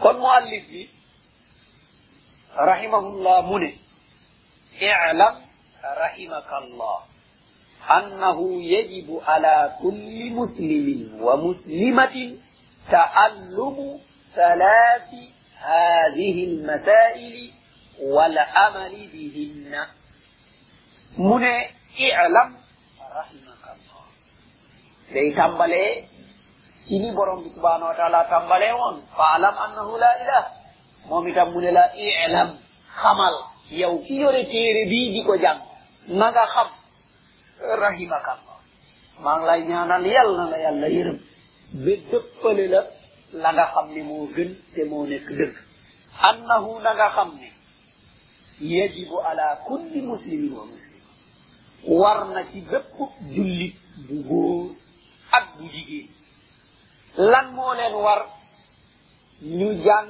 kon muallif bi rahimahullah mu ne i'lam rahimakallah أنه يجب على كل مسلم ومسلمة تعلم ثلاث هذه المسائل والعمل بهن من اعلم رحمك الله day tambale ci ni borom bi subhanahu wa ta'ala tambale won fa'lam annahu la ilaha moom itam mu ne la i'lam xamal yow ki yore téere bi di ko jàng na nga xam rahimakallah maa ngi lay ñaanal yàlla na la yàlla yërëm ba dëppale la la nga xam ne moo gën te moo nekk dëgg annahu na nga xam ne yajibu ala kulli muslimin wa muslima war na ci bépp jullit bu góor ak bu jigéen lan moo leen war ñu jàng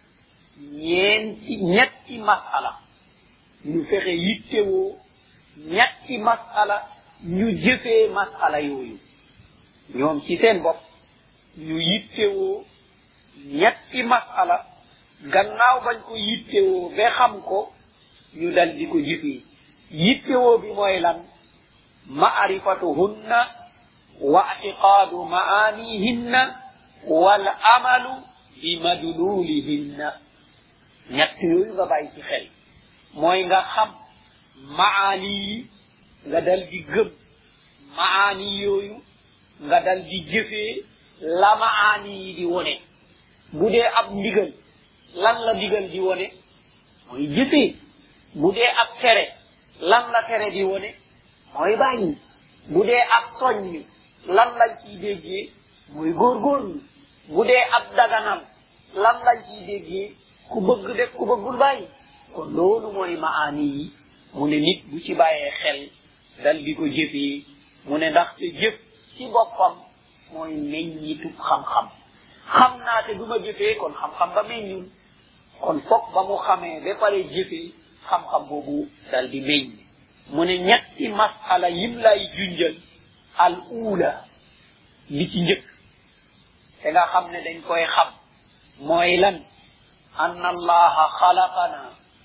ñetti masala ñu fexe yittewoo ñetti masala ñu jëfee masala yooyu ñoom ci seen bopp ñu yittewoo ñetti masala gannaaw bañ ko yittewoo ba xam ko ñu dal di ko jëfee yittewoo bi mooy lan ma'rifatuhunna wa i'tiqadu ma'anihinna wal amalu bi madlulihinna ñett yooyu nga bàyyi ci xel mooy nga xam maani yi nga dal di gëm maani yooyu nga dal di jëfee la maani yi di wone bu dee ab ndigal lan la ndigal di wone mooy jëfee bu dee ab tere lan la tere di wone mooy bàyyi bu dee ab soññ lan lañ ciy déggee mooy góorgóorlu bu dee ab daganam lan lañ ciy déggee ku bëgg def ku bëggul bàyyi kon loolu mooy maani yi mu ne nit bu ci bàyyee xel dal di ko jëfee mu ne ndaxte jëf ci boppam mooy meññitub xam-xam xam naa te du ma jëfee kon xam-xam ba meññul kon fokk ba mu xamee ba pare jëfee xam-xam boobu dal di meññ mu ne ñetti masala yim lay junjal al ula li ci njëkk te nga xam ne dañ koy xam mooy lan anna allaha xalaqana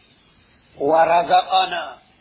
wa razaqana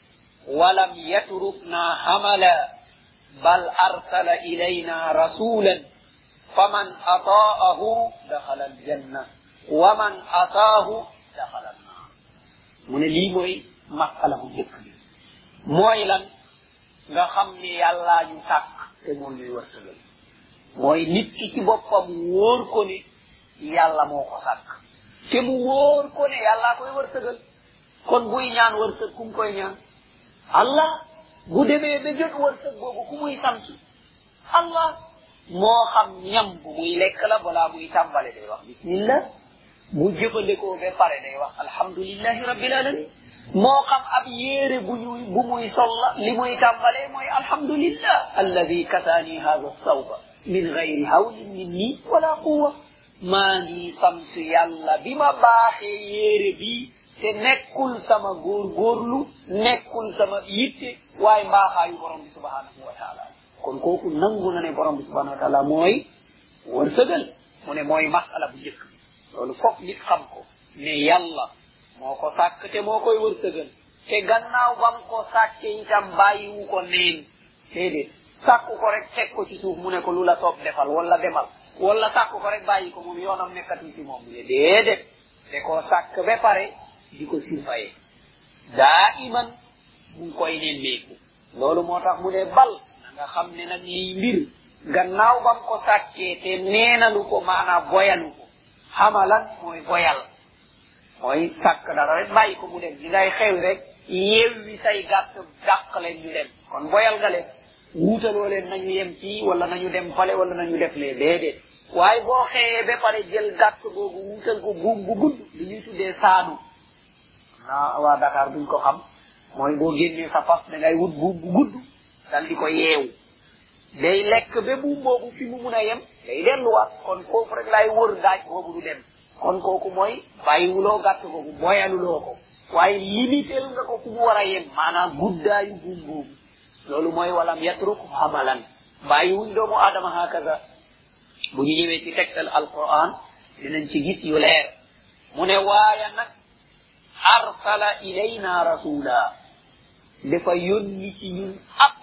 walam yatrukna hamala bal arsala ilayna rasulan faman ata'ahu dakhala aljanna wa man ataahu dakhala an-nar mu ne lii mooy masala bu njëkk bi mooy lan nga xam ne yàllaa ñu sàkk te moom ñuy wërsëgal mooy nit ki ci boppam wóor ko ne yàlla moo ko sàkk te mu wóor ko ne yàllaa koy wërsëgal kon buy ñaan wërsëg kum koy ñaan allah bu demee ba jot wërsëg boobu ku muy sant allah moo xam ñam bu muy lekk la balaa muy tàmbale day wax bismillah bu jëfandikoo ba pare day wax alhamdulillahi rabbil alamin moo xam ab yéere bu muy sol la li muy tàmbalee mooy alhamdulillah alladi kasaani hada sawba min gayri hawlin minni wala quwa maa ngi sant yàlla bi ma baaxee yéere bi te nekkul sama góorgóorlu nekkul sama yitte waaye mbaaxaayu borom bi subhanahu wa taala kon kooku nangu na ne borom bi subhanahu wa taala mooy wërsëgal mu ne mooy masala bu njëkk loolu foog nit xam ko ne yàlla moo ko sàkk te moo koy wërsëgal te gannaaw bam ko sàkke itam bàyyiwu ko neen déedéet sàkku ko rek teg ko ci suuf mu ne ko lu la soob defal wala demal wala sàkku ko rek bàyyi ko moom yoonam nekkati ci moom ne déedéet te koo sàkk ba pare di ko surveiller daa iman mu ngi koy nemmeeku loolu moo tax mu ne bal na nga xam ne nag lii mbir gannaaw bam ko sàkkee te neenalu ko maanaam boyalu ko xamalan mooy boyal mooy sàkk dara rek bàyyi ko mu dem di ngay xew rek yeewi say gàtt dàq leen ñu dem kon boyal nga leen wuutaloo leen nañu yem ci wala nañu dem fale wala nañu def lee déedéet waaye boo xëyee ba pare jël gàtt boobu wuutal ko buum bu gudd li ñuy tuddee saanu naa waa Dakar duñ ko xam mooy boo génnee sa fas da ngay wut buum bu gudd dal di ko yeewu day lekk ba buum boobu fi mu mun a yem day delluwaat kon foofu rek lay wër daaj boobu du dem kon kooku mooy bàyyiwuloo gàtt boobu boyaluloo ko waaye limité nga ko fu mu war a yem maanaam guddaayu buum boobu loolu mooy walam yatruk hamalan bàyyiwuñ doomu aadama hakaza bu ñu ñëwee ci tegtal alquran dinañ ci gis yu leer mu ne waaye nag arsala ilayna rasula dafa yónni ci ñun ab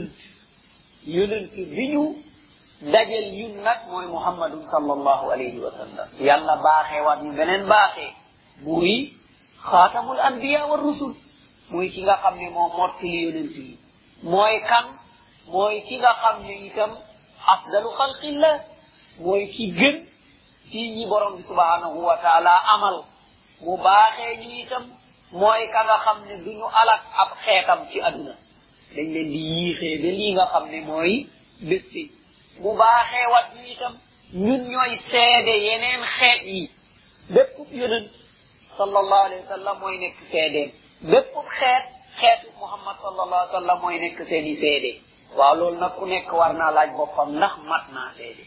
yonent bi ñu dajel ñun nag mooy muhammadun sallallahu alayhi wa sallam yàlla baaxee waat ñu beneen baaxee muy xaatamul anbiya wa rusul muy ki nga xam ne moo mottali yonent yi mooy kan mooy ki nga xam ne itam afdalu xalqillah mooy ki gën ci ñi borom bi subhanahu wa taala amal mu baaxee ñu itam mooy ka nga xam ne duñu alak ab xeetam ci aduna dañ leen di yiixee ba lii nga xam ne mooy bés bi mu baaxee wat ñu itam ñun ñooy seede yeneen xeet yi bépp yonent sallallahu alayhi wa sallam mooy nekk seedeen bépp xeetu muhammad sallallahu alayhi wa sallam mooy nekk seeni seede waaw loolu nag ku nekk war naa laaj boppam ndax mat naa seede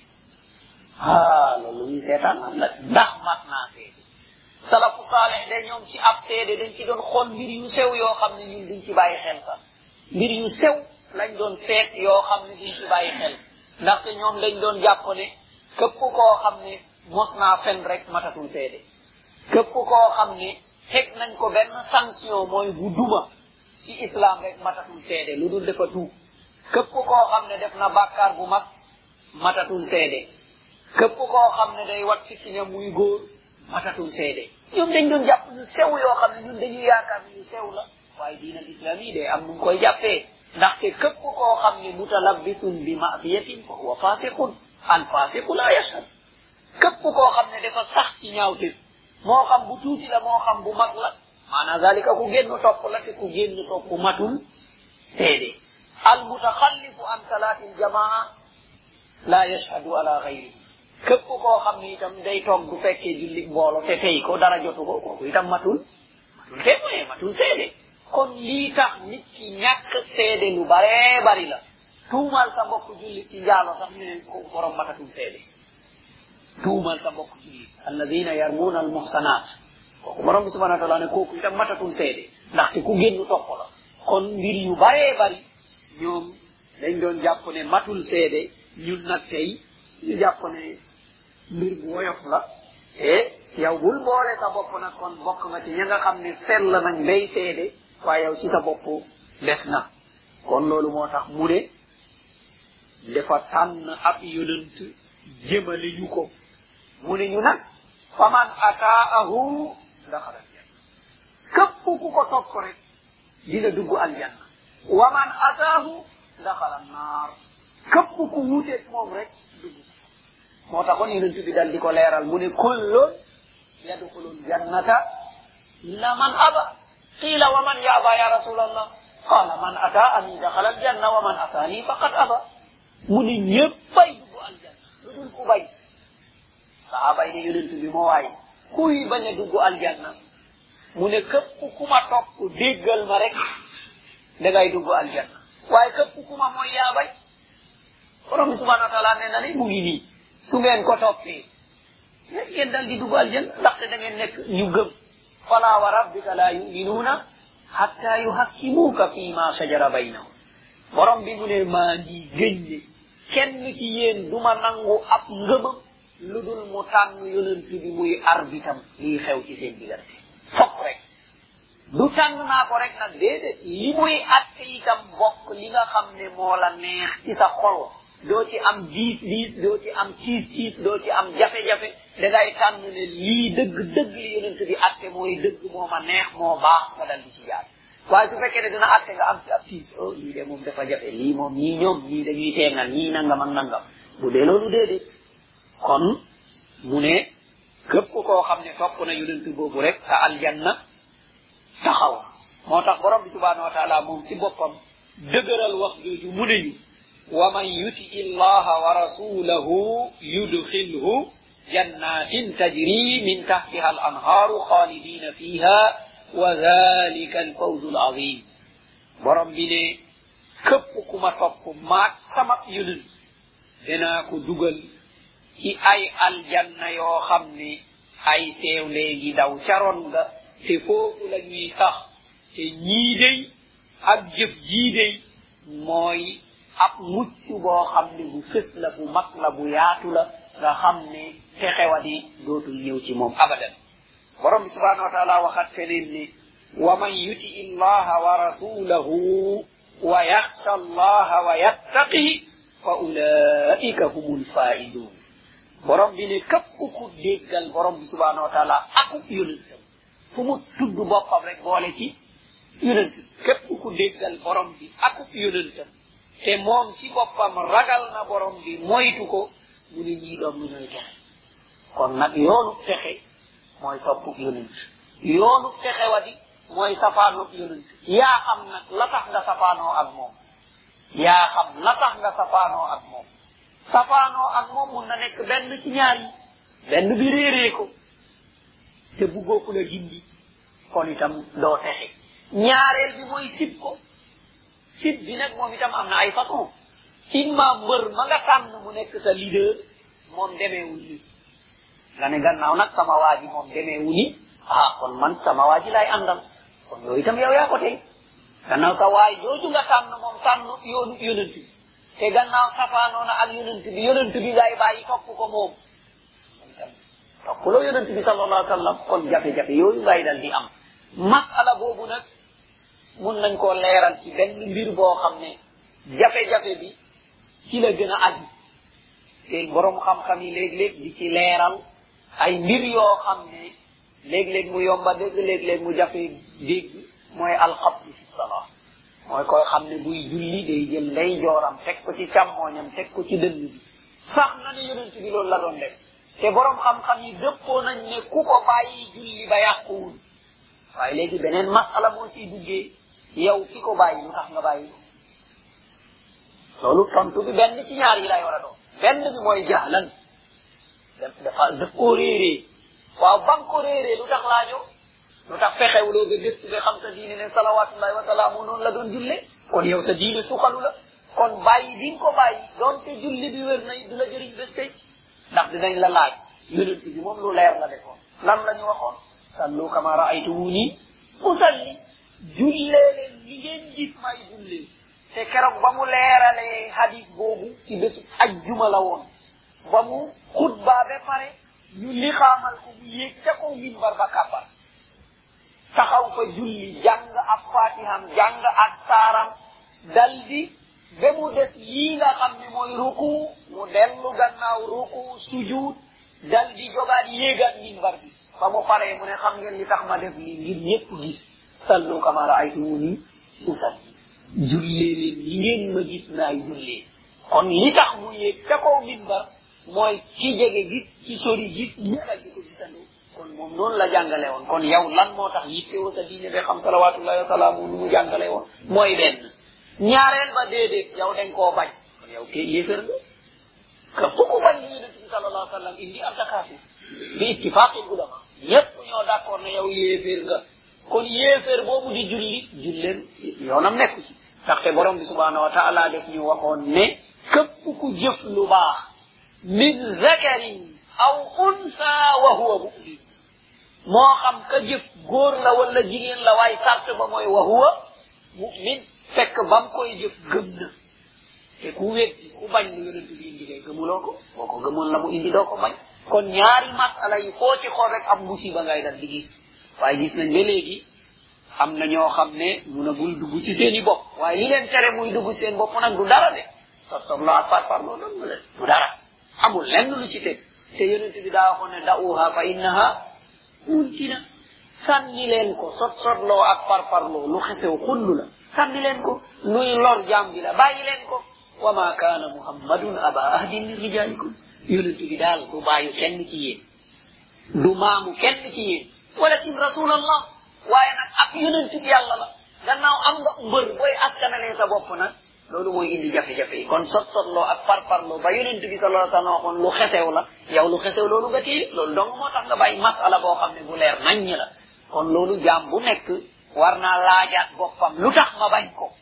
loolu ñu seetaan ndax mat naa seede salafu saalih de ñoom ci ab seede dañ ci doon xool mbir yu sew yoo xam ne ñun duñ ci bàyyi xel sax mbir yu sew lañ doon seet yoo xam ne duñ ci bàyyi xel ndaxte ñoom dañ doon jàpp ne képp koo xam ne mos naa fen rek matatul seede képp koo xam ne teg nañ ko benn sanction mooy bu duma ci islam rek matatul seede lu dul dafa tuub képp koo xam ne def na bàkkaar bu mag matatul seede képp koo xam ne day wat sikkiñam muy góor matatul seede ñoom dañ doon jàpp ñu sew yoo xam ne ñun dañuy yaakaar ñu sew la waaye diina islam yi day am nu koy jàppee ndaxte képp koo xam ne mutalabbisun bi ma'siyatin fa huwa fasiqun al fasiqu la yashhad képp koo xam ne dafa sax ci ñaawte moo xam bu tuuti la moo xam bu mag la maanaam zalika ku génn topp la te ku génn topp matul seede al mutaxallifu an salaatil jamaa la yashhadu ala ghayrihi képp koo xam ne itam day toog du fekkee julli mboolo te tey ko dara jotu ko kooku itam matul témoin matul seede kon lii tax nit ki ñàkk seede lu baree bari la tuumal sa mbokk julli ci njaalo sax ñu ne ko borom matatul seede tuumal sa mbokk julli alladina yarmuuna al muhsanat kooku borom bi subhanahu wa taala ne kooku itam matatul seede ndaxte ku génn topp la kon mbir yu baree bari ñoom dañ doon jàpp ne matul seede ñun nag tey ñu jàpp ne mbir bu woyof la te yow bul boole sa bopp nag kon bokk nga ci ña nga xam ne sell nañ bay seede waaye yow ci sa bopp des na kon loolu moo tax mu ne dafa tànn ab yonent jëmale ñu ko mu ne ñu nag faman ataahu daxala aljanna képp ku ko topp rek dina dugg aljanna waman ataahu daxala annaar képp ku wuuteeg moom rek dugg moo taxoon yonent bi dal di ko leeral mu ne kullun yadxulul jannata illa man aba qila wa man yaba ya rasulallah qala man ataani daxala aljanna wa man ataani faqad aba mu ne ñëppay dugg aljanna lu dul ku bañ sahaaba yi ne yonent bi moo waay kuy bañ a dugg aljanna mu ne képp ku ma topp déggal ma rek dangay dugg aljanna waaye képp ku ma mooy yaa bay borom bi subhanahu wa taala ne na ne mu ngi nii su ngeen ko toppee ngeen dal di dugg aljanna ndaxte da ngeen nekk ñu gëm fala wa rabbika la yuminuuna hatta yuhakkimuuka fi ma shajara baynahum borom bi mu ne maa ngi gëñ ne kenn ci yéen duma nangu ab ngëmam lu dul mu tànn yonent bi muy arbitam lii xew ci seen diggante fokk rek du tànn naa ko rek nag déedéet li muy atte itam bokk li nga xam ne moo la neex ci sa xol doo ci am diis doo ci am tiis doo ci am jafe-jafe dangay tànn ne lii dëgg li yonent bi atte mooy dëgg moo ma neex moo baax nga dal di ci jaar waaye su fekkee ne dina atte nga am ci ab tiis lii de moom dafa jafe lii moom ñii ñoom ñii dañuy teengal ñii nangam ak nangam bu dee loolu déedéet kon mu ne képp koo xam ne topp na yonent boobu rek sa aljanna taxaw moo tax borom bi subhanahu wa taala moom ci boppam dëgëral wax jooju mu ne ñu wa man yuti illaha wa rasulahu yudxilhu jannatin tajri min tahtiha al anhaaru xaalidina fiha wa dhalika al fawzu al azim borom bi ne képp ku ma topp maag sama yonent danaa ko dugal ci ay aljanna yoo xam ne ay seew léegi daw caroon nga te foofu la ñuy sax te ñii dey ak jëf jii dey mooy ab mucc boo xam ne bu fës la bu mag la bu yaatu la nga xam ne te xewadi dootul ñëw ci moom abadan borom subhanahu wa ta'ala waxat feneen ni wa man yuti illaha wa rasulahu wa yakhsha allaha wa yattaqi fa ulaika humul faizun borom bi ne kep ku deggal borom subhanahu wa ta'ala ak yonentam fu mu tudd boppam rek boole ci yonent kep ku deggal borom bi ak yonentam te moom ci boppam ragal na borom bi moytu ko mu ne ñii doom ñu ñooy texe kon nag yoonu texe mooy topp yonent yoonu texe wadi mooy safaanu yonent yaa xam nag la tax nga safaanoo ak moom yaa xam la tax nga safaanoo ak moom safaanoo ak moom mun na nekk benn ci ñaar yi benn bi réeree ko te buggoo ku la gindi kon itam doo texe ñaareel bi mooy sib ko sib bi nag moom itam am na ay façon imma mbër ma nga tànn mu nekk sa leader moom demeewul ni nga ne gannaaw nag sama waa ji moom demeewul ni kon man sama waa ji lay àndal kon yooyu itam yow yaa ko tey gannaaw sa waay jooju nga tànn moom tànn yoonu yonent bi te gannaaw safaanoona ak yonent bi ngay bàyyi topp ko moom itam toppuloo yonent bi sallallahu alayhi wa sallam kon jafe-jafe yooyu ngay dal di am masala boobu nag mun nañ koo leeral ci benn mbir boo xam ne jafe-jafe bi ci la gën a aju te borom xam-xam yi léeg-léeg di ci leeral ay mbir yoo xam ne léeg-léeg mu yomba dégg léeg-léeg mu jafe dégg mooy alxabdu fi salaa mooy koy xam ne buy julli day jël ndey jooram teg ko ci càmmooñam teg ko ci dënn bi sax na ne yonent bi loolu la doon def te borom xam-xam yi dëppoo nañ ne ku ko bàyyi julli ba yàquwul waaye léegi beneen masala moo ciy duggee yow ki ko bàyyi lu tax nga bàyyi loolu tontu bi benn ci ñaar yi lay war a doon benn bi mooy jahlan daf koo réeree waaw ba nga ko réeree lu tax laajoo lu tax fexewuloo ba gëstu ba xam sa diine ne salawatullahi wa salaamu noonu la doon julle kon yow sa diine suxalu la kon bàyyi di nga ko bàyyi doonte julli bi wér na du la jëriñ bés tey ndax dinañ la laaj yonent bi moom lu leer la defoon lan la ñu waxoon sallu kama raaytumuni usalli jullee leen li ngeen gis may jullee te keroog ba mu leeralee hadis boobu ci bésu ajjuma la woon ba mu xutba ba pare ñu li xaamal ko mu yéeg ca kaw minbar ba kàbbar taxaw fa julli jàng ak fatiham jàng ak saaram daldi ba mu des lii nga xam ne mooy ruku mu dellu gannaaw ruku sujud daldi jogaat yéegaat minbar bi ba mu paree mu ne xam ngeen li tax ma def lii ngir ñépp gis sallu kama raaytumuni usalli jullee leen li ngeen ma gis naay jullee kon li tax mu yéeg ca kaw minbar mooy ci jege gis ci sori gis ñegal di ko gisandoo kon moom noonu la jàngale woon kon yow lan moo tax yittewoo sa diine ba xam salawatullahi wa salaamu lu mu jàngale woon mooy benn ñaareel ba déedéet yow dañ koo bañ kon yow kay yéefar nga ka fu ko bañ li yonent bi sallallahu alayhi wa sallam indi am takaafir bi ittifaqil ulama ñépp ñoo d'accord ne yow yéefar nga kon yéefar boobu di julli julleen yoonam nekku ci ndaxte borom bi subhanahu wa taala def ñu waxoon ne képp ku jëf lu baax min zakarin aw unsa wa huwa mu'min moo xam ka jëf góor la wala jigéen la waaye sart ba mooy wa huwa mu'min fekk bam koy jëf gëm na te ku weddi ku bañ lu yonent bi indi kay gëmuloo ko boo ko gëmoon la mu indi doo ko bañ kon ñaari masala yi foo ci xool rek am musiba ngay dal di gis waaye gis nañ ba léegi am na ñoo xam ne munagul dugg ci seen i bopp waaye li leen tere muy dugg seen bopp nag du dara de sot la ak par loolu doon leen du dara amul lenn lu ci teg te yonent bi daa waxoon ne da'uha fa innaha muntina sànni leen ko sotloo ak parparloo lu xesew xullu la sànni leen ko luy lor jaam bi la bàyyi leen ko wa ma kaana muhammadun aba ahdin min rijalikum yonent bi daal du bàyyu kenn ci yéen du maamu kenn ci yéen walakin rasulallah waaye nag ab yonent bi yàlla la gannaaw am nga mbër booy askanalee sa bopp nag loolu mooy indi jafe-jafe yi kon sotloo ak parparloo ba yonent bi sallallahu alayhi wa sallam waxoon lu xesew la yow lu xesew loolu nga téye loolu dong moo tax nga bàyyi masala boo xam ne bu leer naññ la kon loolu jaam bu nekk war naa laajaat boppam lu tax ma bañ ko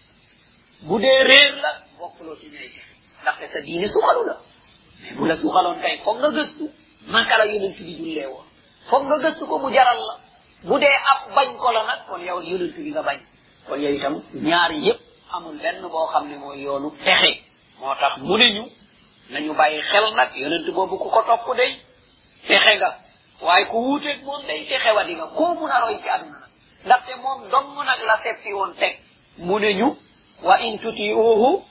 bu dee réer la bokkuloo ci ñay texe ndaxte sa diine suxalu la mais bu la suxaloon kay foog nga gëstu naka la yonent bi jullee woon foog nga gëstu ko mu jaral la bu dee ab bañ ko la nag kon yow yonent bi nga bañ kon yow itam ñaari yépp amul benn boo xam ne mooy yoonu texe moo tax mu ne ñu nañu bàyyi xel nag yonent boobu ku ko topp day texe nga waaye ku wuuteeg moom day te xewadi nga koo mun a roy ci àdduna nag ndaxte moom dong nag la seppi woon teg mu ne ñu wa in tutiuhu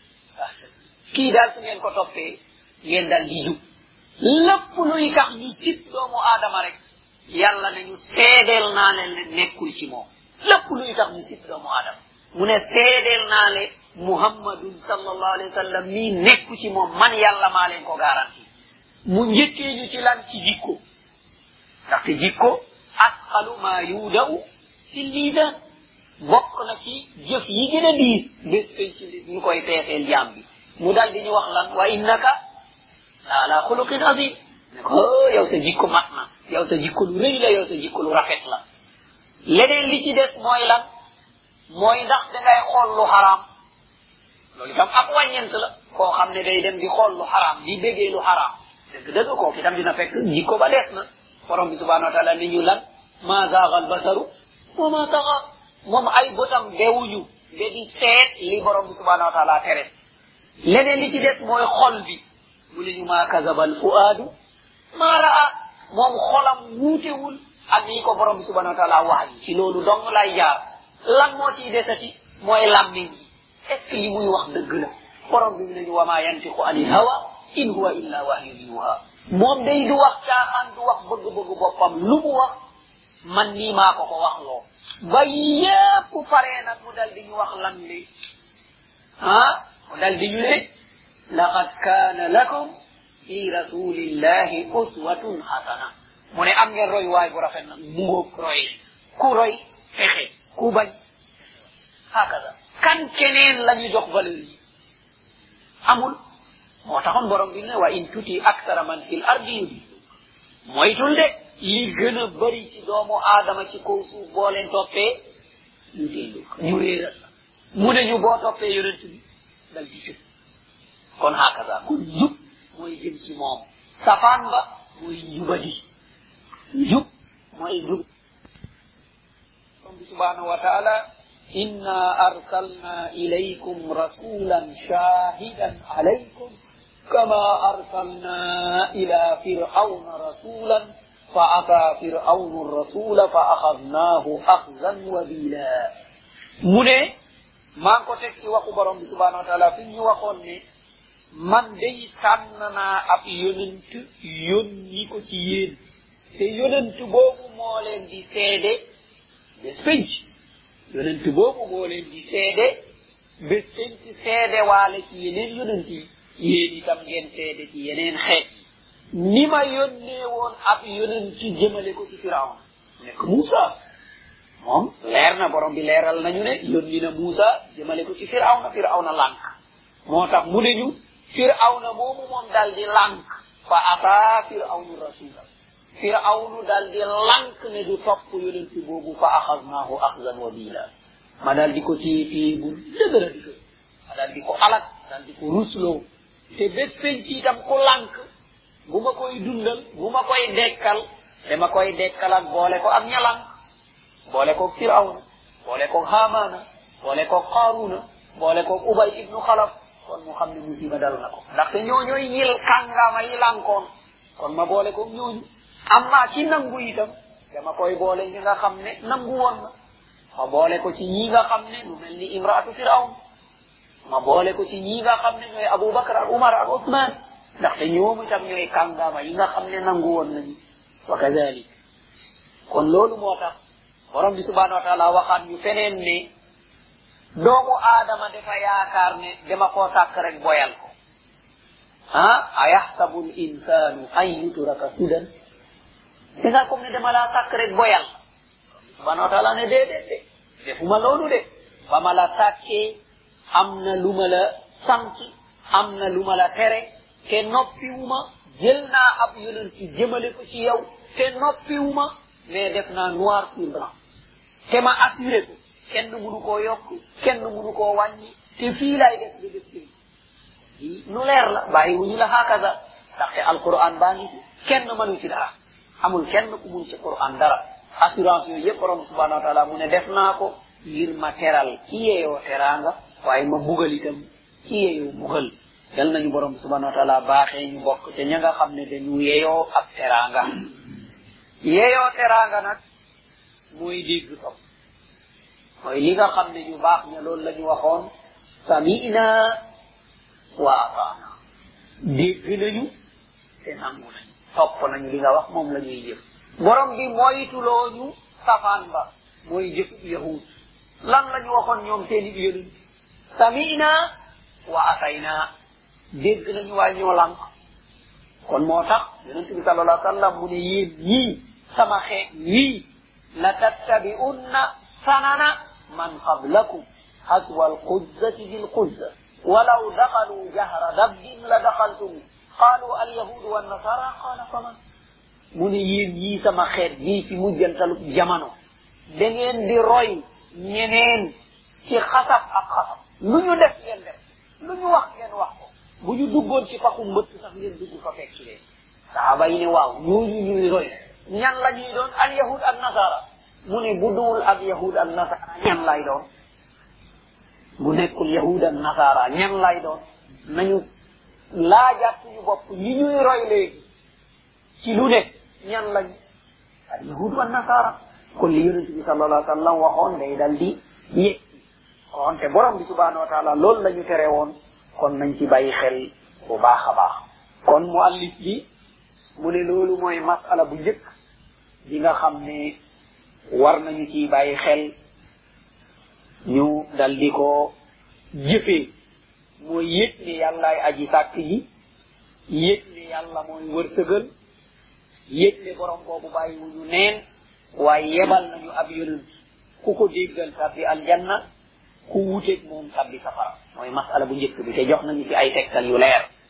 kii daal su ngeen ko toppee ngeen dal di jub lépp luy tax ñu sit doomu aadama rek yàlla nañu seedeel naa leen ne nekkul ci moom lépp luy tax ñu sit doomu aadama mu ne seedeel naa le muhammadun sallallahu alayhi wa sallam mii nekku ci moom man yàlla maa leen ko garanti mu njëkkee ñu ci lan ci jikko ndaxte jikko asqalu ma yuudaw ci liidan bokk na ci jëf yi gën a diis bés ci ñu koy peeseel jaam bi mu dal di ñu wax lan wa innaka la ala xuluqin azim ne ko yow sa jikko mat na yow sa jikko lu rëy la yow sa jikko lu rafet la leneen li ci des mooy lan mooy ndax dangay xool lu xaraam loolu itam ab wàññent la koo xam ne day dem di xool lu xaraam di bégee lu xaraam dëgg kooku itam dina fekk jikko ba des na borom bi subhanahu wa taala ni ñu lan ma zaaga al basaru wa ma taxa moom ay bëtam bewuñu ba di seet li borom bi subhanahu wa taala tere leneen li ci des mooy xol bi mu ne ñu maa kazabal fuaadu maa raa moom xolam wuutewul ak li ko borom bi subhanahu wa taala wax yi ci loolu dong lay jaar lan moo ciy desati mooy làmmiñ bi est ce que li muy wax dëgg la borom bi mu ne ñu wa maa yantiqu anil hawa in huwa illa wahyun yuha moom day du wax caaxaan du wax bëgg-bëgg boppam lu mu wax man nii maa ko wax loo ba yépp paree nag mu dal di ñu wax lan li mu dal di ñu ne laqad kaana lakum fi rasulillahi uswatun hasana mu ne am ngeen roy waay bu rafet nag mu ngoog roy ku roy fexe ku bañ hakaza kan keneen la ñu jox valeur yi amul moo taxoon borom bi ne wa in tuti aktara man fil ardi yudi moytul de li gën a bëri ci doomu aadama ci kaw suuf boo leen toppee ñu déelu ñu réeral la mu ne ñu boo toppee yonent bi dal di jub kon hakaza kon jub mooy jëm ci moom safaan ba mooy njubadi jub mooy jub borom bi subhanahu wa taala inna arsalna ilaykum rasulan shahidan alaykum كما أرسلنا إلى فرعون رسولا فعصى فرعون الرسول فأخذناه أخذا وبيلا من ما كنت وقو برم سبحانه وتعالى في وقوني من دي تننا أب يوننت يونيكو تيين te yonent boobu moo leen di seede bés penc yonent boobu moo leen di seede bés penc seede waale ci yeneen yonent yi yéen itam ngeen seede ci yeneen xeet ni ma yónnee woon ab yonent jëmale ko ci Firawna nekk Muusa moom leer na borom bi leeral nañu ne yónni na Muusa jëmale ko ci Firawna lànk moo tax mu ne ñu Firawna moomu moom dal di lànk fa ataa Firawnu rasula Firawnu dal di lànk ne du topp yonent boobu fa axaznaahu axzan wabila ma dal di ko téye bu dëgëra di ko ma dal di ko alak dal di ko rusloo te bés penc itam ku lànk bu ma koy dundal bu ma koy dekkal dama koy dekkal ak boole ko ak ña lànk boole ko Firawna boole ko Haamaana boole ko Qaaruna boole ko Ubay ibnu Xalaf kon mu xam ne musiba dal na ko ndaxte ñooñooy ñil kàngama yi lànkoon kon ma boole ko ñooñu amma ci nangu itam dama koy boole ñi nga xam ne nangu woon na ma boole ko ci ñi nga xam ne lu mel ni imraatu Firawna ma boole ko ci ñi nga xam ne ñooy Abubakar ak Umar ak Usman ndaxte ñoom itam ñooy kàngama yi nga xam ne nangu woon nañu wa kazalik kon loolu moo tax borom bi subhanahu wa taala waxaat ñu feneen ne doomu aadama dafa yaakaar ne dama koo sàkk rek boyal ko ayaxsabu l insanu an yutraka sudan danga comme ne dama laa sàkk rek boyal subhanahu wa taala ne déedéet de defuma loolu de ba ma la sàkkee am na lu ma la sant am na lu ma la tere te noppiwuma jël naa ab yonent ci jëmale ko ci yow te noppiwuma mais def naa noir sur blanc te ma assuré ko kenn mënu koo yokk kenn mënu koo wàññi te fii lay def ba def fii nu leer la bàyyiwuñu la hakaza ndaxte alquran baa ngi ci kenn mënu ci dara amul kenn ku mun ci quran dara assurance yooyu yëpp borom subhanahu wa taala mu ne def naa ko ngir ma teral ki yeeyoo teraanga waaye ma bugal itam ki yeeyoo bugal yal nañu borom subhanahu wa taala baaxee ñu bokk te ña nga xam ne dañu yeeyoo ab teraanga yeeyoo teraanga nag mooy dégg topp mooy li nga xam ne ñu baax ña loolu la ñu waxoon sami'na wa ata'na dégg nañu te nangu nañu topp nañu li nga wax moom la ñuy jëf borom bi moytuloo ñu safaan ba mooy jëf yahud lan la ñu waxoon ñoom seeni yonent sami'na wa atayna dégg nañu waaye ñoo lànk kon moo tax yonent bi sallallahu alayhi wa sallam mu ne yéen ñii sama xeet wii la tattabi'unna sanana man qablakum haswa alquzzati bilquzza walaw daqalu jahra dabbin la daqaltum qalu alyahudu wannasara qala faman mu ne yéen ñii sama xeet bii ci mujjantalu jamono da ngeen di roy ñeneen ci xasab ak xasab lu ñu def ngeen def lu ñu wax ngeen wax ko bu ñu duggoon ci paxu mbëtt sax ngeen dugg fa fekk leen saxaaba yi ne waaw ñooñu ñuy roy ñan la ñuy doon al yahud ak nasara mu ne bu duwul ak yahud ak nasara ñan lay doon bu nekkul yahud ak nasara ñan lay doon nañu laajaat suñu bopp ñi ñuy roy léegi ci lu ne ñan lañ al yahud ak nasara kon li yonent bi sallallahu alayhi wa sallam waxoon day dal di yëg kon te borom bi subhanahu wa taala loolu la ñu tere woon kon nañ ci bàyyi xel bu baax a baax kon muallif bi mu ne loolu mooy masala bu njëkk bi nga xam ne war nañu ci bàyyi xel ñu dal di ko jëfee mooy yëg ne yàllaay aji sàkk ji yëg ne yàlla mooy wërsëgal yëg ne borom boobu bàyyi wu ñu neen waaye yebal nañu ab yonent ku ko déggal tabbi aljanna ku wuteeg moom tabbi safara mooy masala bu njëkk bi te jox nañu ci ay tegtal yu leer